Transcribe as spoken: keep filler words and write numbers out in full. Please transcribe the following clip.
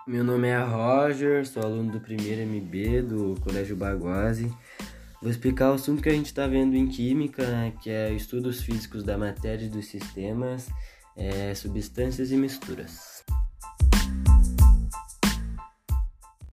Meu nome é Roger, sou aluno do primeiro M B do Colégio Baguazzi. Vou explicar o assunto que a gente está vendo em Química, né, que é estudos físicos da matéria e dos sistemas, é, substâncias e misturas.